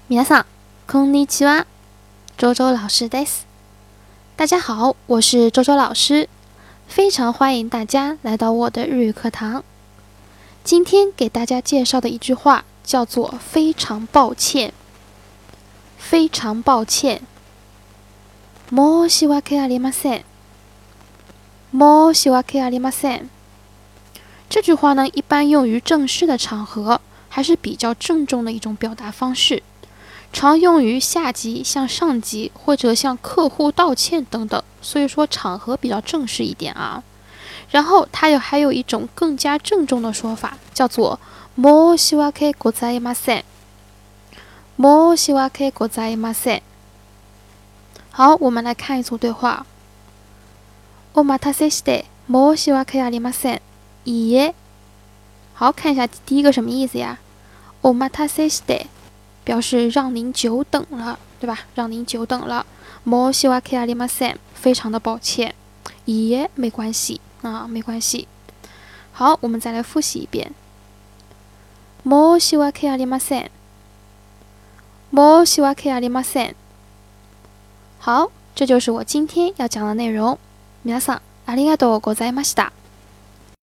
皆さん、こんにちは。周周老师です。大家好，我是周周老师，非常欢迎大家来到我的日语课堂。今天给大家介绍的一句话叫做"非常抱歉"。非常抱歉。申し訳ありません。申し訳ありません。这句话呢，一般用于正式的场合，还是比较郑重的一种表达方式。常用于下级向上级或者向客户道歉等等，所以说场合比较正式一点啊。然后它还有一种更加郑重的说法，叫做申し訳ございません。申し訳ございません。好，我们来看一组对话。お待たせして申し訳ありません。いいえ。好，看一下第一个什么意思呀？お待たせして表示让您久等了，对吧？让您久等了。申し訳ありません，非常的抱歉。いいえ，没关系啊，没关系。好，我们再来复习一遍。申し訳ありません。申し訳ありません。好，这就是我今天要讲的内容。皆さん、ありがとうございました。